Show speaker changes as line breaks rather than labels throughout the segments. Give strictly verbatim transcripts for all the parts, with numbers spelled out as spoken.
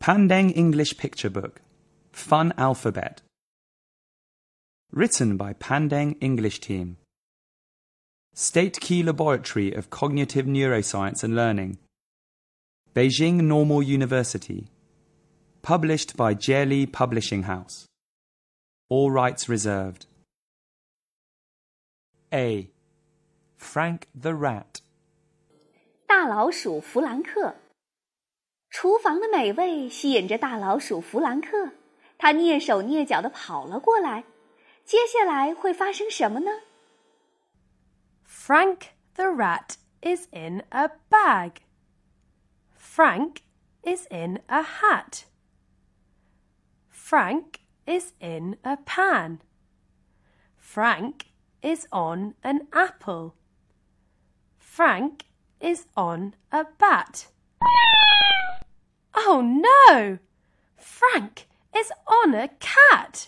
Pandeng English Picture Book, Fun Alphabet. Written by Pandeng English Team. State Key Laboratory of Cognitive Neuroscience and Learning. Beijing Normal University. Published by Jieli Publishing House. All rights reserved. A. Frank the Rat.
大老鼠弗兰克。厨房的美味吸引着大老鼠弗兰克，他蹑手蹑脚地跑了过来。接下来会发生什么呢？
Frank the rat is in a bag. Frank is in a hat. Frank is in a pan. Frank is on an apple. Frank is on a bat. Oh no! Frank is on a cat.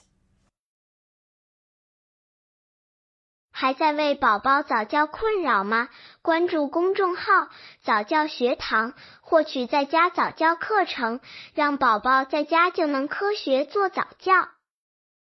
还在为宝宝早教困扰吗？关注公众号早教学堂，获取在家早教课程，让宝宝在家就能科学做早教。